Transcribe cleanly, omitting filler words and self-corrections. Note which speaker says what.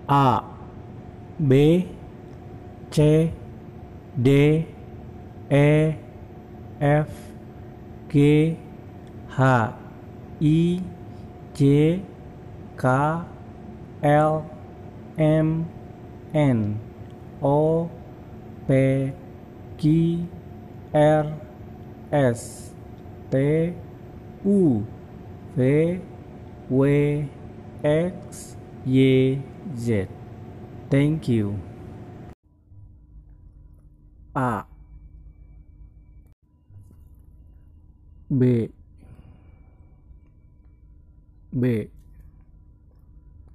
Speaker 1: A, B, C, D, E, F, G, H, I, J, K, L, M, N, O, P, Q, R, S, T, U, V, W, X, Y, Z. Thank you. A, B, B,